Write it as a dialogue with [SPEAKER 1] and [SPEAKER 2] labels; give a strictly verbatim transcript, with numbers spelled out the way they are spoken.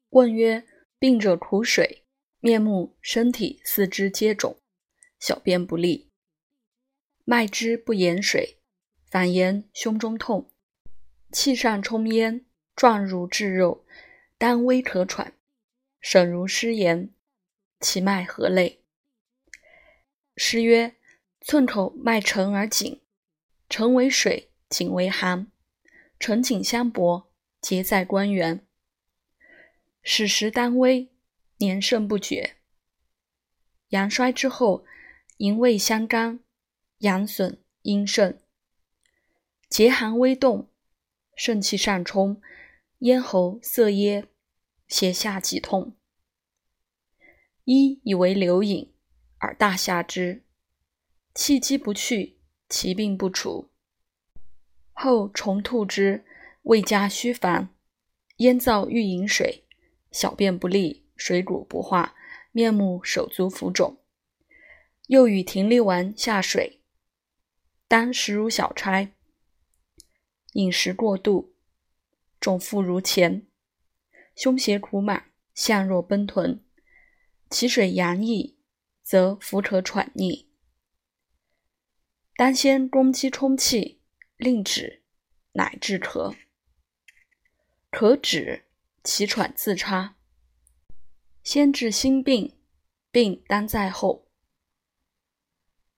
[SPEAKER 1] 问曰：病者吐水，面目、身体、四肢皆肿，小便不利。脉之不言水，反言胸中痛，气上冲咽，状如炙肉，单微可喘，省如失言，其脉何类？诗曰：寸口脉沉而紧，沉为水，紧为寒，沉紧相搏，结在关元。始时单微，年盛不绝。阳衰之后，营卫相干，阳损阴盛，结寒微动，肾气上冲，咽喉涩噎，胁下即痛。医以为流饮，而大下之，气机不去，其病不除。后重吐之，胃加虚烦，咽燥欲饮水，小便不利，水谷不化，面目手足浮肿。又与停利丸下水，当时如小差，饮食过度，重腹如前，胸胁鼓满，象若奔豚，其水阳溢，则腹可喘逆。当先攻击充气，令止，乃治咳。咳止，其喘自差。先治心病，病当在后。